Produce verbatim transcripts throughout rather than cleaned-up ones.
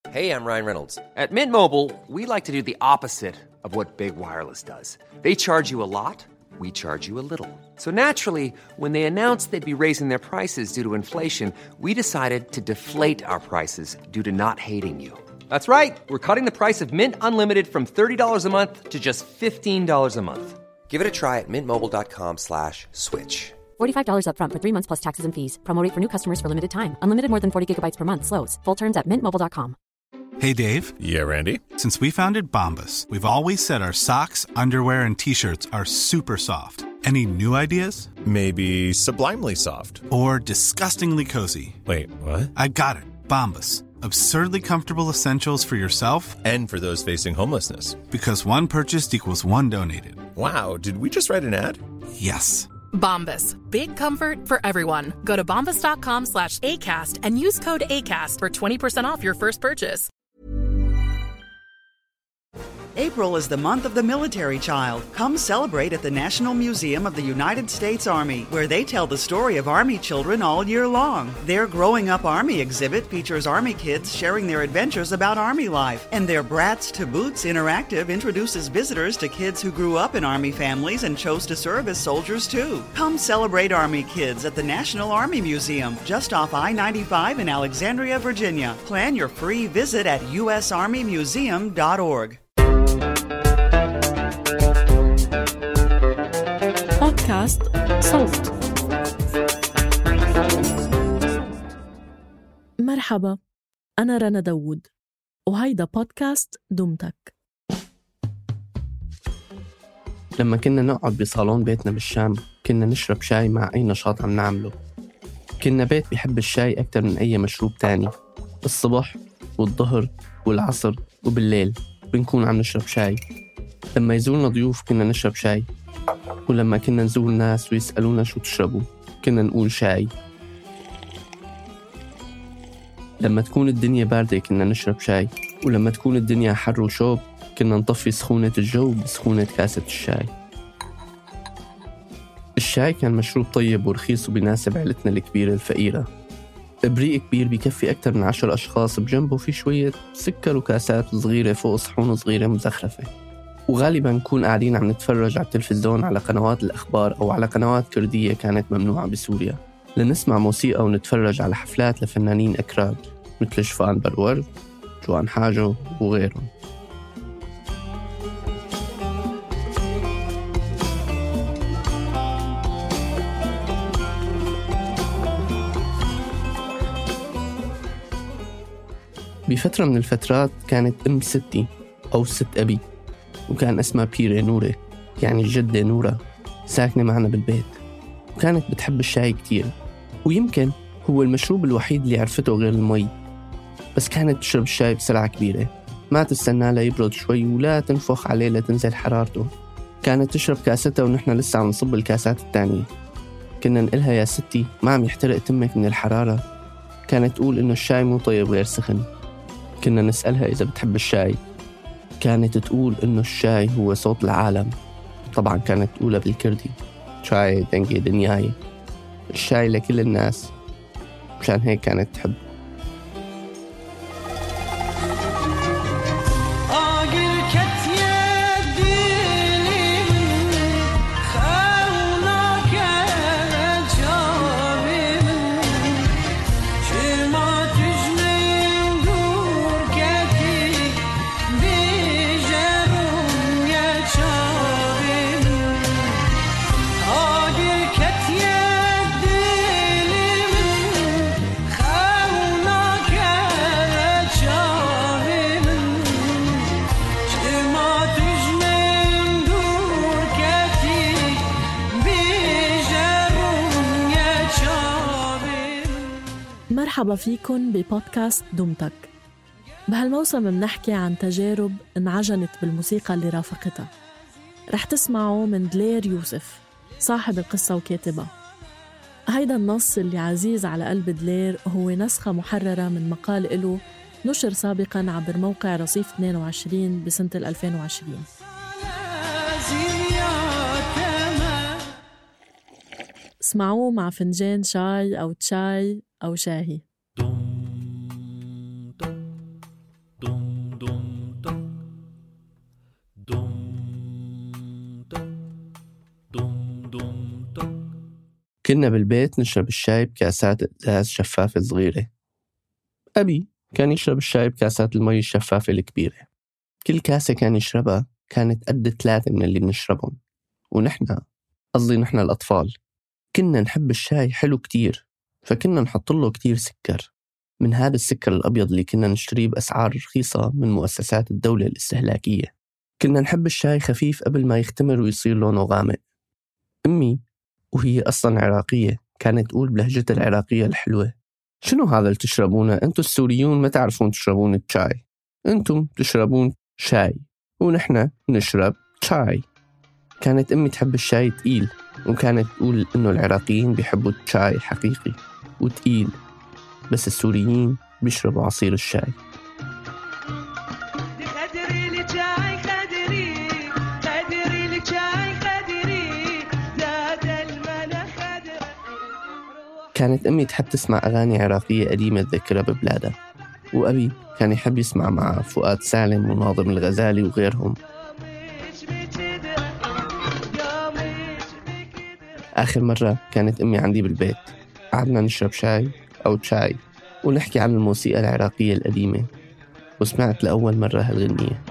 Hey, I'm Ryan Reynolds. At Mint Mobile, we like to do the opposite of what Big Wireless does. They charge you a lot, we charge you a little. So naturally, when they announced they'd be raising their prices due to inflation, we decided to deflate our prices due to not hating you. That's right. We're cutting the price of Mint Unlimited from thirty dollars a month to just fifteen dollars a month. Give it a try at mintmobile.com slash switch. forty-five dollars up front for three months plus taxes and fees. Promo rate for new customers for limited time. Unlimited more than forty gigabytes per month. Slows full terms at mint mobile dot com. Hey, Dave. Yeah, Randy? Since we founded Bombas, we've always said our socks, underwear, and T-shirts are super soft. Any new ideas? Maybe sublimely soft. Or disgustingly cozy. Wait, what? I got it. Bombas. Absurdly comfortable essentials for yourself and for those facing homelessness. Because one purchased equals one donated. Wow, did we just write an ad? Yes. Bombas. Big comfort for everyone. Go to bombas.com slash ACAST and use code ACAST for twenty percent off your first purchase. April is the month of the military child. Come celebrate at the National Museum of the United States Army, where they tell the story of Army children all year long. Their Growing Up Army exhibit features Army kids sharing their adventures about Army life, and their Brats to Boots interactive introduces visitors to kids who grew up in Army families and chose to serve as soldiers too. Come celebrate Army kids at the National Army Museum, just off I ninety-five in Alexandria, Virginia. Plan your free visit at u s army museum dot org. بودكاست صوت. مرحبا، أنا رنا داوود وهيدا بودكاست دمتك. لما كنا نقعد بصالون بيتنا بالشام كنا نشرب شاي مع أي نشاط عم نعمله. كنا بيت بيحب الشاي أكتر من أي مشروب تاني. الصبح والظهر والعصر وبالليل بنكون عم نشرب شاي. لما يزورنا ضيوف كنا نشرب شاي، ولما كنا نزور ناس ويسألونا شو تشربوا كنا نقول شاي. لما تكون الدنيا باردة كنا نشرب شاي، ولما تكون الدنيا حر وشوب كنا نطفي سخونة الجو بسخونة كاسة الشاي. الشاي كان مشروب طيب ورخيص وبيناسب عائلتنا الكبيرة الفقيرة. إبريق كبير بيكفي أكتر من عشر أشخاص، بجنبه في شوية سكر وكاسات صغيرة فوق صحون صغيرة مزخرفة. وغالباً نكون قاعدين عم نتفرج على التلفزيون على قنوات الأخبار أو على قنوات كردية كانت ممنوعة بسوريا، لنسمع موسيقى ونتفرج على حفلات لفنانين أكراد مثل شفان برورد، جوان حاجو وغيرهم. بفترة من الفترات كانت أم ستي أو ست أبي، وكان اسمها بيري نورة، يعني الجدة نورة، ساكنة معنا بالبيت، وكانت بتحب الشاي كتير، ويمكن هو المشروب الوحيد اللي عرفته غير المي. بس كانت تشرب الشاي بسرعة كبيرة، ما تستنى لا يبرد شوي ولا تنفخ عليه لتنزل حرارته. كانت تشرب كاستها ونحن لسه عم نصب الكاسات التانية. كنا نقلها يا ستي ما عم يحترق تمك من الحرارة. كانت تقول إنه الشاي مو طيب غير سخن. كنا نسألها إذا بتحب الشاي، كانت تقول إنه الشاي هو صوت العالم. طبعا كانت تقولها بالكردي، شاي دنجي دنياي، الشاي لكل الناس، مشان هيك كانت تحب. مرحبا فيكن ببودكاست دمتك. بهالموسم منحكي عن تجارب انعجنت بالموسيقى اللي رافقتها. رح تسمعوا من دلير يوسف صاحب القصة وكاتبها. هيدا النص اللي عزيز على قلب دلير هو نسخة محررة من مقال إله نشر سابقاً عبر موقع رصيف اثنين وعشرين بسنة ألفين وعشرين. اسمعوه مع فنجان شاي أو تشاي أو شاهي. كنا بالبيت نشرب الشاي بكاسات إزاز شفافة صغيرة. أبي كان يشرب الشاي بكاسات المي الشفافة الكبيرة. كل كاسة كان يشربها كانت قد ثلاثة من اللي بنشربهم. ونحن قصدي نحن الأطفال كنا نحب الشاي حلو كتير، فكنا نحط له كتير سكر، من هذا السكر الأبيض اللي كنا نشتريه بأسعار رخيصة من مؤسسات الدولة الاستهلاكية. كنا نحب الشاي خفيف قبل ما يختمر ويصير لونه غامق. أمي وهي أصلاً عراقية كانت تقول بلهجتها العراقية الحلوة: شنو هذا اللي تشربونه؟ أنتوا السوريون ما تعرفون تشربون الشاي، أنتم تشربون شاي ونحن نشرب شاي. كانت أمي تحب الشاي تقيل، وكانت تقول إنه العراقيين بيحبوا الشاي حقيقي وتقيل، بس السوريين بيشربوا عصير الشاي. كانت أمي تحب تسمع أغاني عراقية قديمة تذكرها ببلادها، وأبي كان يحب يسمع مع فؤاد سالم وناظم الغزالي وغيرهم. آخر مرة كانت أمي عندي بالبيت، قعدنا نشرب شاي أو شاي ونحكي عن الموسيقى العراقية القديمة، وسمعت لأول مرة هالغنية.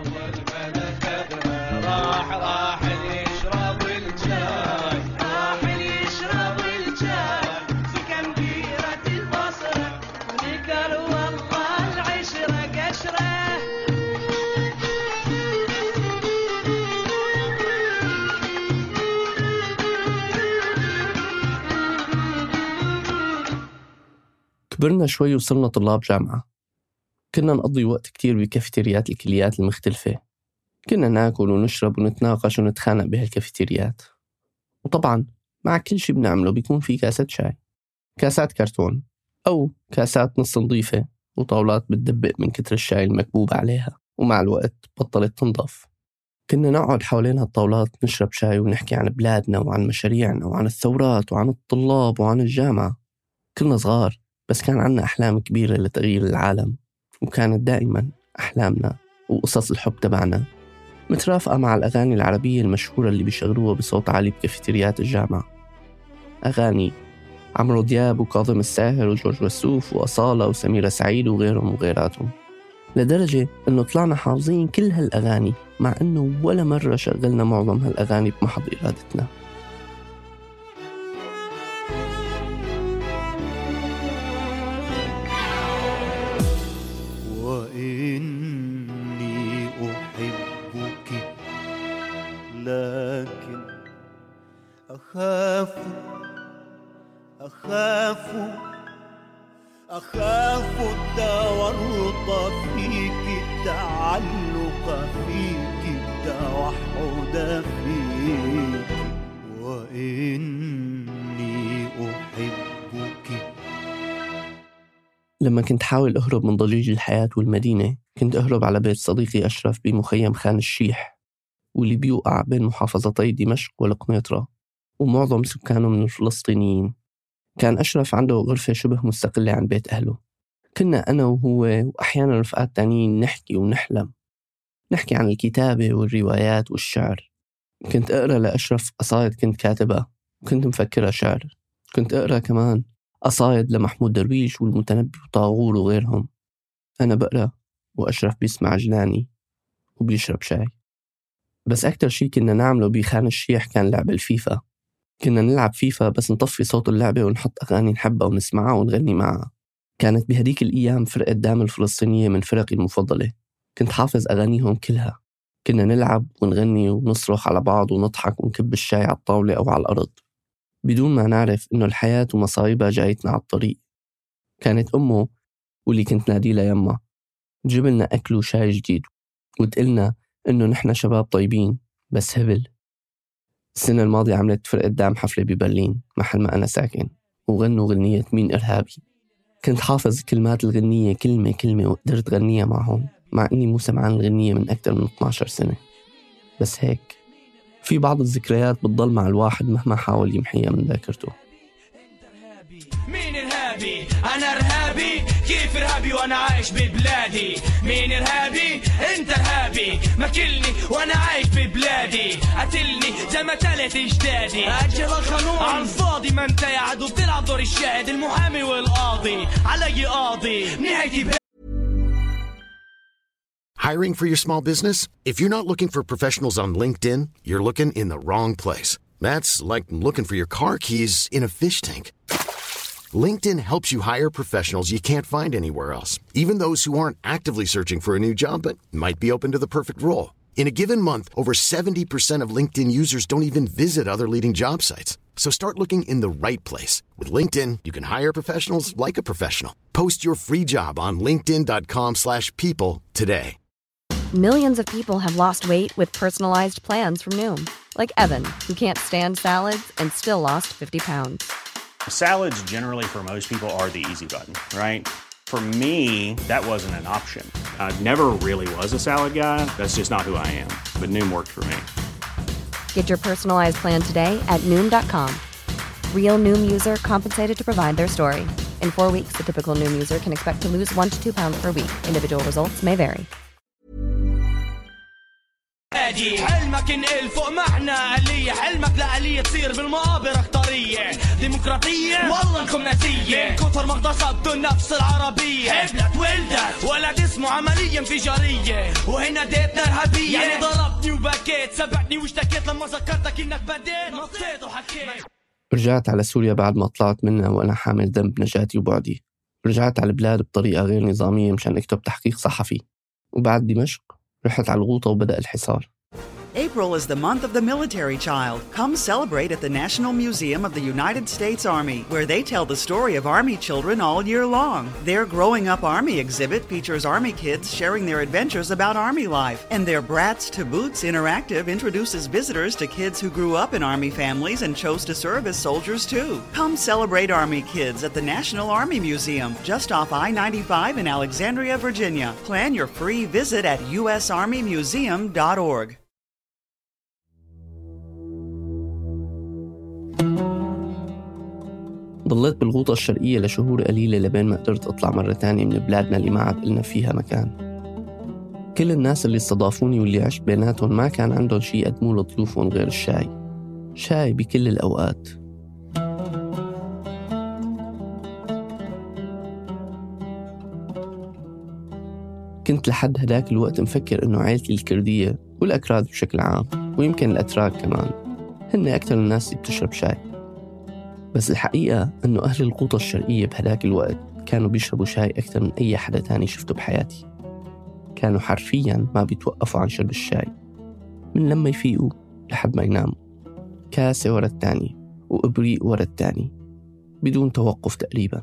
كبرنا شوي وصلنا طلاب جامعة. كنا نقضي وقت كتير بكافيتريات الكليات المختلفة. كنا ناكل ونشرب ونتناقش ونتخانق بهالكافيتريات. وطبعا مع كل شي بنعمله بيكون في كاسات شاي، كاسات كرتون أو كاسات نص نظيفة وطاولات بتدبق من كتر الشاي المكبوب عليها، ومع الوقت بطلت تنضف. كنا نقعد حوالين هالطاولات نشرب شاي ونحكي عن بلادنا وعن مشاريعنا وعن الثورات وعن الطلاب وعن الجامعة. كنا صغار بس كان عنا أحلام كبيرة لتغيير العالم، وكانت دائما أحلامنا وقصص الحب تبعنا مترافقة مع الأغاني العربية المشهورة اللي بيشغلوها بصوت عالي بكافيتريات الجامعة. أغاني عمرو دياب وكاظم الساهر وجورج وسوف وأصالة وسميرة سعيد وغيرهم وغيراتهم، لدرجة أنه طلعنا حافظين كل هالأغاني مع أنه ولا مرة شغلنا معظم هالأغاني بمحض إرادتنا. وإني أحبك لكن أخاف أخاف أخاف التورط فيك، التعلق فيك، التوحد فيك. وإني أحبك. لما كنت حاول أهرب من ضجيج الحياة والمدينة كنت أهرب على بيت صديقي أشرف بمخيم خان الشيح، واللي بيوقع بين محافظتي دمشق والقنيطرة، ومعظم سكانه من الفلسطينيين. كان أشرف عنده غرفة شبه مستقلة عن بيت أهله. كنا أنا وهو وأحيانا رفقات تانيين نحكي ونحلم، نحكي عن الكتابة والروايات والشعر. كنت أقرأ لأشرف قصائد كنت كاتبها وكنت مفكرها شعر. كنت أقرأ كمان قصائد لمحمود درويش والمتنبي وطاغور وغيرهم. أنا بقرأ وأشرف بيسمع جناني وبيشرب شاي. بس أكتر شي كنا نعمله بخان الشيح كان لعب الفيفا. كنا نلعب فيفا بس نطفي صوت اللعبة ونحط أغاني نحبها ونسمعها ونغني معها. كانت بهديك الأيام فرقة دام الفلسطينية من فرقي المفضلة، كنت حافظ أغانيهم كلها. كنا نلعب ونغني ونصرخ على بعض ونضحك ونكب الشاي على الطاولة أو على الأرض بدون ما نعرف إنه الحياة ومصايبها جايتنا على الطريق. كانت أمه واللي كنت نادي لها يما تجيب لنا أكل وشاي جديد وتقلنا إنه نحن شباب طيبين بس هبل. السنة الماضية عملت فرقة دام حفلة ببرلين محل ما أنا ساكن، وغنوا غنية مين إرهابي. كنت حافظ كلمات الغنية كلمة كلمة وقدرت غنيها معهم، مع إني مو سمعان الغنية من أكثر من اثنتي عشرة سنة. بس هيك في بعض الذكريات بتضل مع الواحد مهما حاول يمحيها من ذاكرته. مين إرهابي؟ أنا إرهابي؟ كيف إرهابي وأنا وانا عايش ببلادي. مين ارهابي؟ انت ارهابي. ماكلني وانا عايش ببلادي. قتلني زي ما تلت اجدادي. اجل القانون على الفاضي، ما انت قاعد وبتلعب دور الشاهد المحامي والقاضي. علي قاضي نهايتي ب... Hiring for your small business? If you're not looking for professionals on LinkedIn, you're looking in the wrong place. That's like looking for your car keys in a fish tank. LinkedIn helps you hire professionals you can't find anywhere else, even those who aren't actively searching for a new job but might be open to the perfect role. In a given month, over seventy percent of LinkedIn users don't even visit other leading job sites. So start looking in the right place. With LinkedIn, you can hire professionals like a professional. Post your free job on linkedin dot com slash people today. Millions of people have lost weight with personalized plans from Noom. Like Evan, who can't stand salads and still lost fifty pounds. Salads generally for most people are the easy button, right? For me, that wasn't an option. I never really was a salad guy. That's just not who I am. But Noom worked for me. Get your personalized plan today at Noom dot com. Real Noom user compensated to provide their story. In four weeks, the typical Noom user can expect to lose one to two pounds per week. Individual results may vary. حلمك انقل فوق معنا آلية. حلمك لآلية تصير بالمقابر اختارية ديمقراطية والله انكم ناسية. من كتر ما اغتصبتوا النفس العربية حبلت ولدت ولد اسمه عملية انفجارية. وهنا ديتنا ارهابية. يعني ضربني وبكيت سبقني واشتكيت لما ذكرتك انك بديت نطيت وحكيت. رجعت على سوريا بعد ما طلعت منها وأنا حامل ذنب نجاتي وبعدي. رجعت على البلاد بطريقة غير نظامية مشان أكتب تحقيق صحفي. وبعد دمشق رحت على الغوطة وبدأ الحصار. April is the month of the military child. Come celebrate at the National Museum of the United States Army, where they tell the story of Army children all year long. Their Growing Up Army exhibit features Army kids sharing their adventures about Army life. And their Brats to Boots interactive introduces visitors to kids who grew up in Army families and chose to serve as soldiers too. Come celebrate Army kids at the National Army Museum, just off I ninety-five in Alexandria, Virginia. Plan your free visit at u s army museum dot org. ضليت بالغوطة الشرقية لشهور قليلة لبين ما قدرت أطلع مرة تانية من بلادنا اللي ما عاد إلنا فيها مكان. كل الناس اللي استضافوني واللي عشت بيناتهم ما كان عندهم شي يقدموا لضيوفهم غير الشاي. شاي بكل الأوقات. كنت لحد هداك الوقت مفكر إنه عائلتي الكردية والأكراد بشكل عام ويمكن الأتراك كمان هن أكتر الناس اللي بتشرب شاي. بس الحقيقة أنه أهل الغوطة الشرقية بهداك الوقت كانوا بيشربوا شاي أكثر من أي حدا تاني شفته بحياتي. كانوا حرفياً ما بيتوقفوا عن شرب الشاي من لما يفيقوا لحد ما يناموا، كاسة ورا التاني وإبريق ورا التاني بدون توقف تقريباً.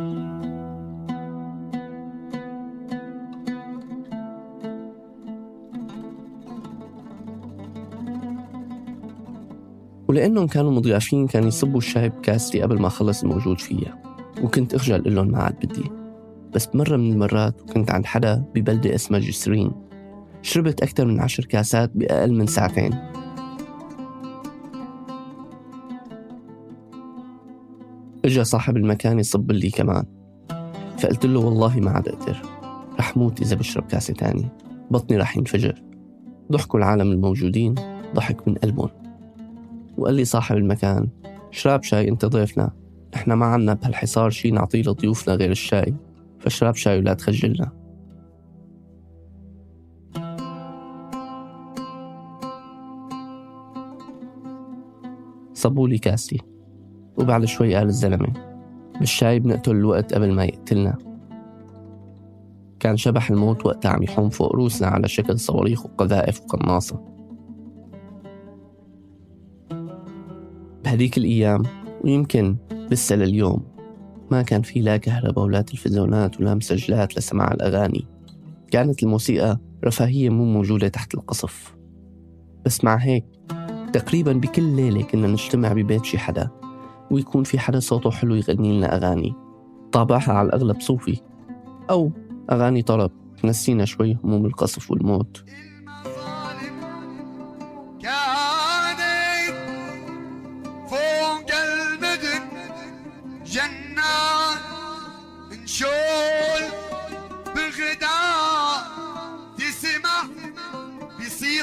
ولأنهم كانوا مضيافين كان يصبوا الشاي بكاستي قبل ما خلص الموجود فيها، وكنت أخجل قلهم ما عاد بدي. بس بمرة من المرات وكنت عند حدا ببلدة اسمها جسرين شربت أكثر من عشر كاسات بأقل من ساعتين. إجا صاحب المكان يصب لي كمان، فقلت له والله ما عاد أقدر، رح موت إذا بشرب كاسة تاني، بطني رح ينفجر. ضحكوا العالم الموجودين ضحك من قلبهم، وقال لي صاحب المكان شراب شاي انت ضيفنا، احنا ما عنا بهالحصار شي نعطيه لضيوفنا غير الشاي، فشراب شاي ولا تخجلنا. صبوا لي كاسي، وبعد شوي قال الزلمة بالشاي بنقتل الوقت قبل ما يقتلنا. كان شبح الموت وقتها عم يحوم فوق روسنا على شكل صواريخ وقذائف وقناصة. بهديك الأيام ويمكن لسه لليوم ما كان في لا كهرباء ولا تلفزيونات ولا مسجلات لسماع الأغاني. كانت الموسيقى رفاهية مو موجودة تحت القصف. بس مع هيك تقريبا بكل ليلة كنا نجتمع ببيت شي حدا ويكون في حدا صوته حلو يغني لنا أغاني، طابعها على الأغلب صوفي أو أغاني طرب تنسينا شوي هموم القصف والموت.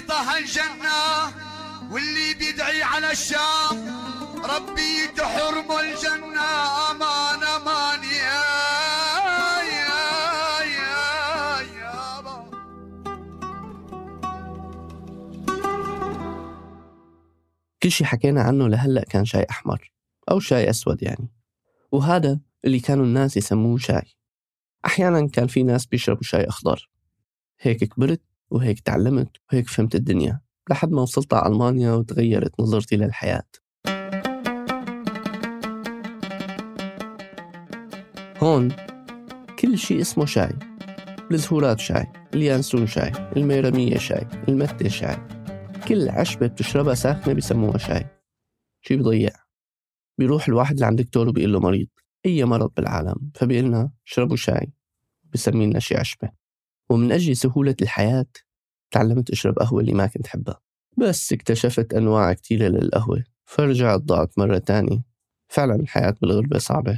يرضى الجنة واللي بيدعي على الشام ربي تحرم الجنة. أمان أمان يا يا يا يابا. كل شي حكينا عنه لهلأ كان شاي أحمر أو شاي أسود يعني، وهذا اللي كانوا الناس يسموه شاي. أحيانا كان في ناس بيشربوا شاي أخضر. هيك كبرت وهيك تعلمت وهيك فهمت الدنيا لحد ما وصلت على ألمانيا وتغيرت نظرتي للحياة. هون كل شيء اسمه شاي. الزهورات شاي، اليانسون شاي، الميرمية شاي، المتة شاي. كل عشبة بتشربها ساخنة بيسموها شاي. شي بيضيع. بيروح الواحد لعند دكتور وبيقول له مريض أي مرض بالعالم، فبيقلنا شربوا شاي، بيسمينا شي عشبة. ومن أجل سهولة الحياة تعلمت أشرب قهوة اللي ما كنت حبها، بس اكتشفت أنواع كتيرة للقهوة فرجعت ضاعت مرة تانية. فعلا الحياة بالغربة صعبة.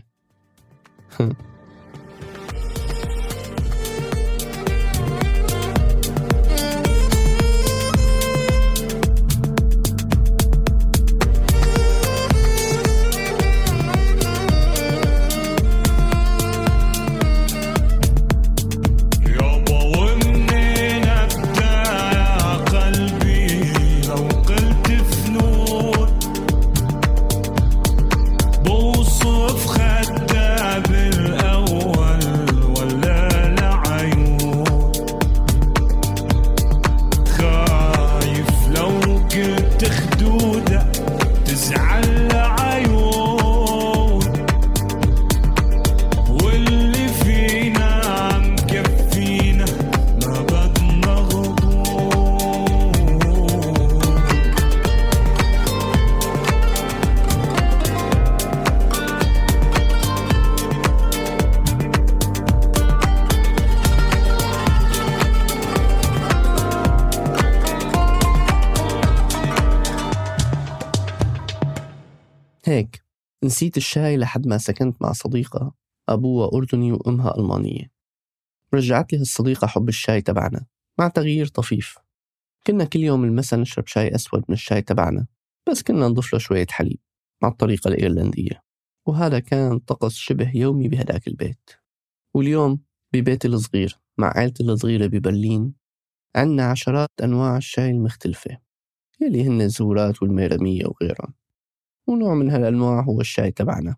هيك نسيت الشاي لحد ما سكنت مع صديقة أبوها أردني وأمها ألمانية. رجعت لي هالصديقة حب الشاي تبعنا مع تغيير طفيف. كنا كل يوم المساء نشرب شاي أسود من الشاي تبعنا، بس كنا نضيف له شوية حليب مع الطريقة الإيرلندية، وهذا كان طقس شبه يومي بهداك البيت. واليوم ببيتي الصغير مع عائلتي الصغيرة ببرلين عنا عشرات أنواع الشاي المختلفة يلي هن الزهورات والميرمية وغيرها، ونوع من هالأنواع هو الشاي تبعنا.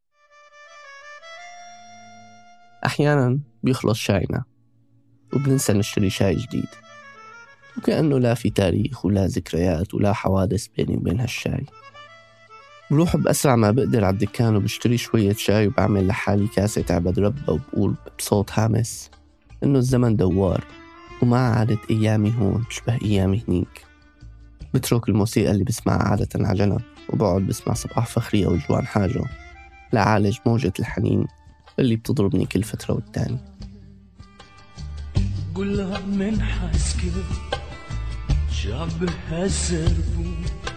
أحيانا بيخلص شاينا وبننسى نشتري شاي جديد، وكأنه لا في تاريخ ولا ذكريات ولا حوادث بيني وبين هالشاي. بروح بأسرع ما بقدر على الدكان وبشتري شوية شاي وبعمل لحالي كاسة عبد ربة وبقول بصوت هامس إنه الزمن دوار وما عادت أيامي هون تشبه أيامي هنيك. بترك الموسيقى اللي بسمعها عادة على جنب وبقعد بسمع صباح فخري أو جوان حاجة لعالج موجة الحنين اللي بتضربني كل فترة والتاني. قولها من حسكي شعبها سربو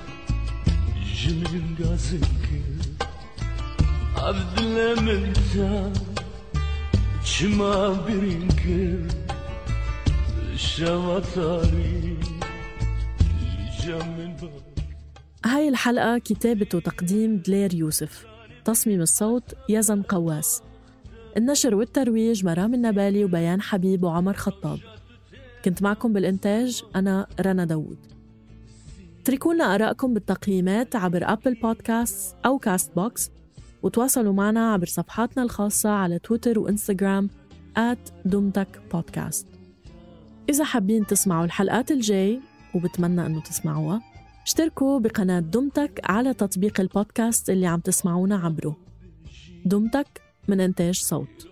جميل قاسكي عبد الله منتا شما برينكي الشواطاري جميل بابا. هاي الحلقة كتابة وتقديم دلير يوسف، تصميم الصوت يزن قواس، النشر والترويج مرام النبالي وبيان حبيب وعمر خطاب. كنت معكم بالإنتاج أنا رنا داود. تركونا آراءكم بالتقييمات عبر أبل بودكاست أو كاست بوكس، وتواصلوا معنا عبر صفحاتنا الخاصة على تويتر وإنستغرام آت دمتك بودكاست. إذا حابين تسمعوا الحلقات الجاي وبتمنى أنه تسمعوها، اشتركوا بقناة دمتك على تطبيق البودكاست اللي عم تسمعونا عبره. دمتك من إنتاج صوت.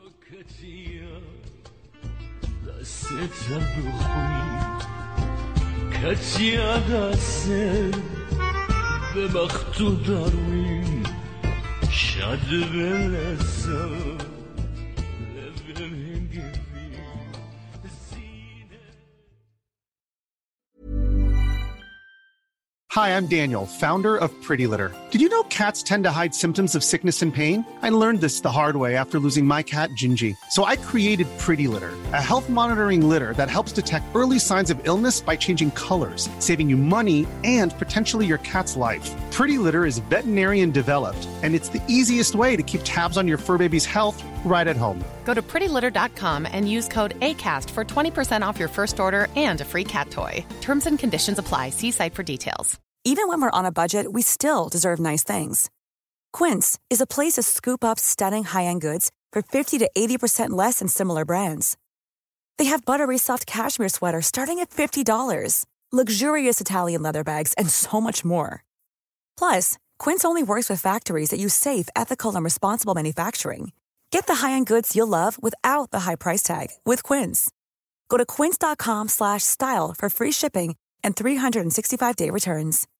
Hi, I'm Daniel, founder of Pretty Litter. Did you know cats tend to hide symptoms of sickness and pain? I learned this the hard way after losing my cat, Gingy. So I created Pretty Litter, a health monitoring litter that helps detect early signs of illness by changing colors, saving you money and potentially your cat's life. Pretty Litter is veterinarian developed, and it's the easiest way to keep tabs on your fur baby's health right at home. Go to pretty litter dot com and use code ACAST for twenty percent off your first order and a free cat toy. Terms and conditions apply. See site for details. Even when we're on a budget, we still deserve nice things. Quince is a place to scoop up stunning high-end goods for fifty to eighty percent less than similar brands. They have buttery soft cashmere sweaters starting at fifty dollars, luxurious Italian leather bags, and so much more. Plus, Quince only works with factories that use safe, ethical, and responsible manufacturing. Get the high-end goods you'll love without the high price tag with Quince. Go to quince dot com slash style for free shipping and three sixty-five day returns.